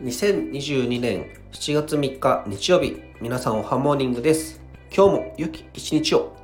2022年7月3日日曜日、皆さんおはモーニングです。今日も良き一日を。